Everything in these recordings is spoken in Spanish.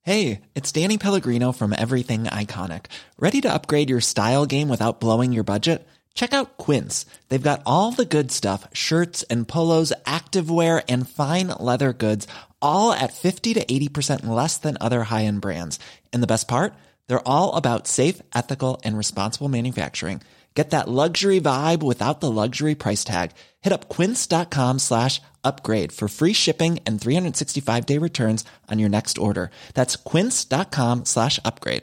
Hey, it's Danny Pellegrino from Everything Iconic. Ready to upgrade your style game without blowing your budget? Check out Quince. They've got all the good stuff, shirts and polos, activewear, and fine leather goods, all at 50 to 80% less than other high-end brands. And the best part? They're all about safe, ethical, and responsible manufacturing. Get that luxury vibe without the luxury price tag. Hit up quince.com/upgrade for free shipping and 365-day returns on your next order. That's quince.com/upgrade.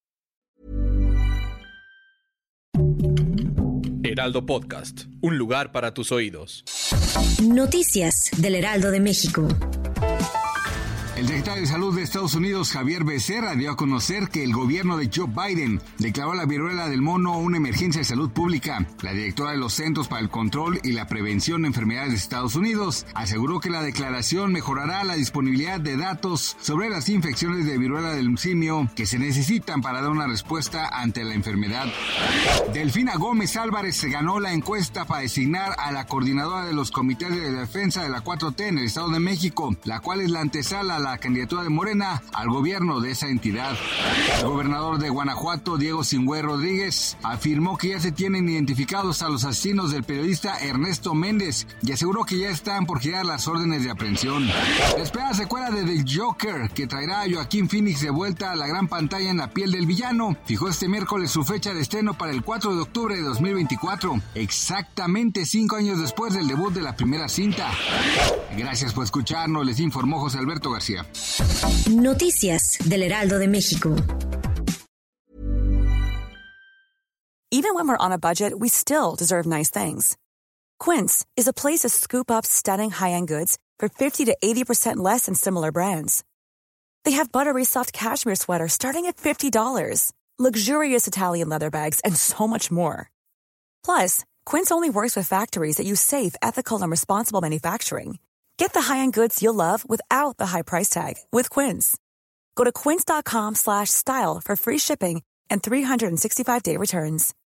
Heraldo Podcast, un lugar para tus oídos. Noticias del Heraldo de México. El secretario de Salud de Estados Unidos, Javier Becerra, dio a conocer que el gobierno de Joe Biden declaró la viruela del mono una emergencia de salud pública. La directora de los Centros para el Control y la Prevención de Enfermedades de Estados Unidos aseguró que la declaración mejorará la disponibilidad de datos sobre las infecciones de viruela del simio que se necesitan para dar una respuesta ante la enfermedad. Delfina Gómez Álvarez se ganó la encuesta para designar a la coordinadora de los comités de defensa de la 4T en el Estado de México, la cual es la antesala a la candidatura de Morena al gobierno de esa entidad. El gobernador de Guanajuato, Diego Sinue Rodríguez, afirmó que ya se tienen identificados a los asesinos del periodista Ernesto Méndez y aseguró que ya están por girar las órdenes de aprehensión. La esperada secuela de The Joker, que traerá a Joaquín Phoenix de vuelta a la gran pantalla en la piel del villano, fijó este miércoles su fecha de estreno para el 4 de octubre de 2024, exactamente 5 años después del debut de la primera cinta. Gracias por escucharnos, les informó José Alberto García. Noticias del Heraldo de México. Even when we're on a budget, we still deserve nice things. Quince is a place to scoop up stunning high-end goods for 50 to 80% less than similar brands. They have buttery soft cashmere sweaters starting at $50, luxurious Italian leather bags, and so much more. Plus, Quince only works with factories that use safe, ethical, and responsible manufacturing. Get the high-end goods you'll love without the high price tag with Quince. Go to quince.com/style for free shipping and 365-day returns.